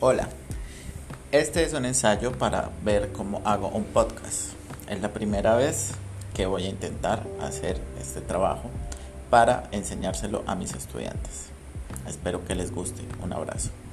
Hola, este es un ensayo para ver cómo hago un podcast. Es la primera vez que voy a intentar hacer este trabajo para enseñárselo a mis estudiantes. Espero que les guste. Un abrazo.